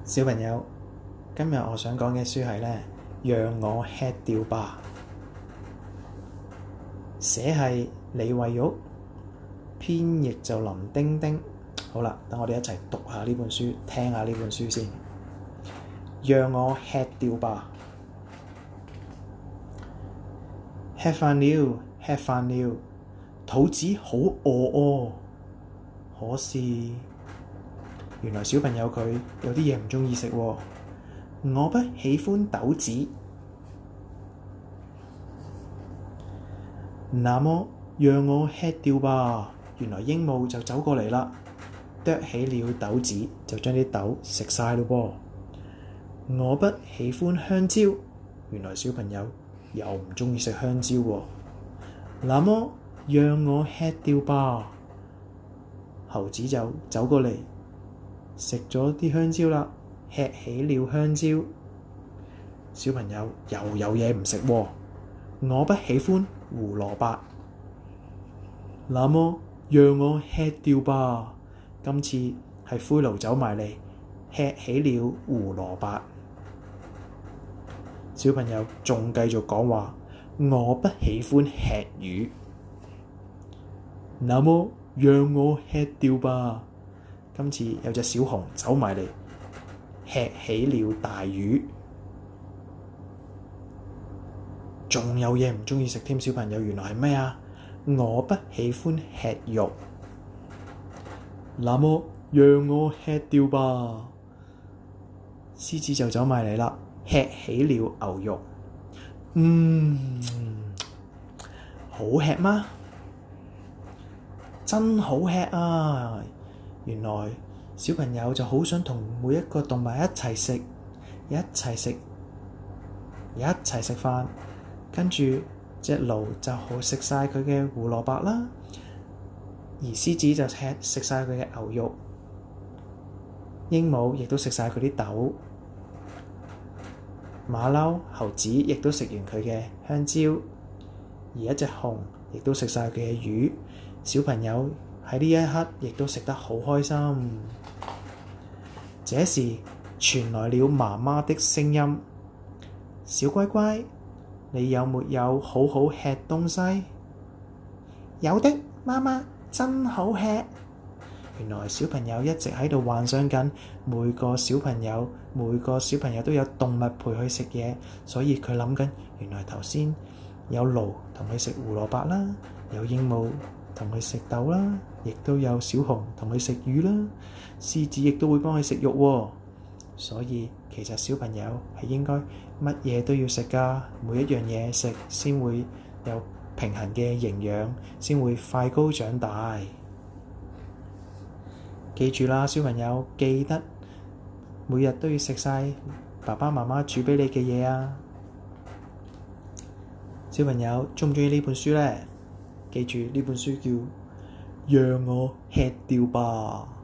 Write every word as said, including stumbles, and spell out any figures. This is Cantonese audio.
小朋友，今日我想講嘅書係呢，讓我吃掉吧。寫係李慧玉，編譯就林丁丁。好啦，等我哋一齊讀下呢本書，聽下呢本書先。讓我吃掉吧。吃飯了，吃飯了，肚子好餓哦。可是原來小朋友佢有啲嘢唔鍾意食喎。我不喜歡豆子。那麼讓我吃掉吧。原來鸚鵡就走過嚟啦，啄起了豆子，就將啲豆食晒咯噃。我不喜歡香蕉。原來小朋友又唔鍾意食香蕉喎。那麼讓我吃掉吧。猴子就走過嚟，食咗啲香蕉啦，吃起了香蕉。小朋友又有嘢唔食喎。我不喜歡胡蘿蔔。那麼讓我吃掉吧。今次係灰驢走埋嚟，吃起了胡蘿蔔。小朋友仲繼續講話，我不喜歡吃魚。那麼讓我吃掉吧。今次有隻小熊走埋嚟，吃起了大魚。仲有嘢唔鍾意食添，小朋友原來係咩啊？我不喜歡吃肉。那麼讓我吃掉吧。獅子就走埋嚟啦，吃起了牛肉。嗯，好吃嗎？真好吃啊！原來小朋友就好想同每一個動物一齊食，一齊食，一齊食飯。跟住隻驢就好食晒佢嘅胡蘿蔔啦，而獅子就吃食晒佢嘅牛肉，鸚鵡亦都食晒佢啲豆，馬騮、猴子亦都食完佢嘅香蕉，而一隻熊亦都食晒佢嘅魚。小朋友喺呢一刻亦都食得好開心。這時傳來了媽媽的聲音：小乖乖，你有沒有好好吃東西？有的，媽媽，真好吃。原來小朋友一直喺度幻想緊，每個小朋友每個小朋友都有動物陪佢食嘢，所以佢諗緊，原來頭先有驢同佢食胡蘿蔔啦，有鸚鵡同佢食豆啦，亦都有小熊同佢食魚啦，獅子亦都會幫佢食肉喎。所以其實小朋友係應該乜嘢都要食㗎，每一樣嘢食先會有平衡嘅營養，先會快高長大。記住啦，小朋友，記得每日都要食晒爸爸媽媽煮畀你嘅嘢啊！小朋友鍾唔鍾意呢本書呢？記住呢本書叫《讓我吃掉吧》。